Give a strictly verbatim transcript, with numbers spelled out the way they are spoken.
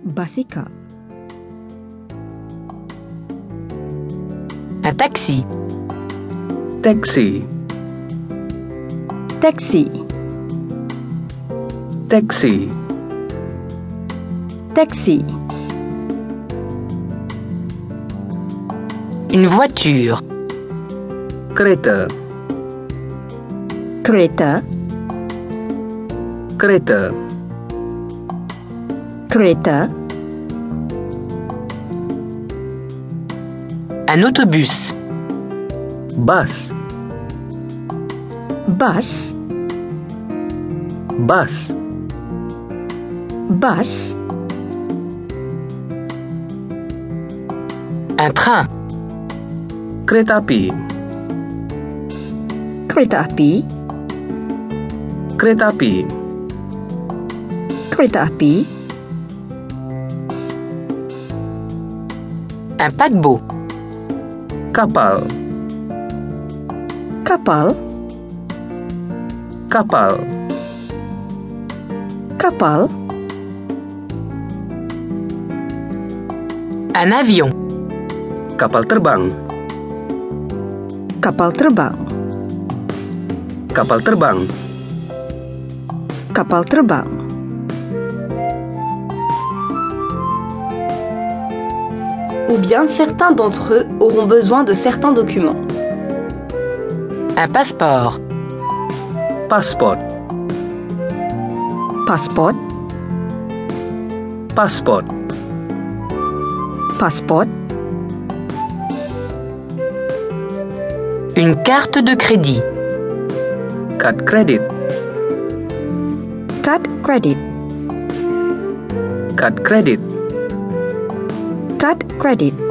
Basikal. Un taxi. Taxi. Taxi. Taxi. Taxi. Une voiture. Kereta. Kereta. Kereta. Kereta. Un autobus. Bus. Bus. Bus. Bus. Un train. Kereta api. Kereta api. Kereta api. Kereta api. Un paquebot. Kapal. Kapal. Kapal. Kapal. Un avion. Kapal terbang. Kapal terbang. Kapal terbang. Kapal terbang. Ou bien certains d'entre eux auront besoin de certains documents. Un passeport. Pasport. Pasport. Pasport. Pasport. Une carte de crédit. Kad kredit. Card credit. Kad kredit. Card credit.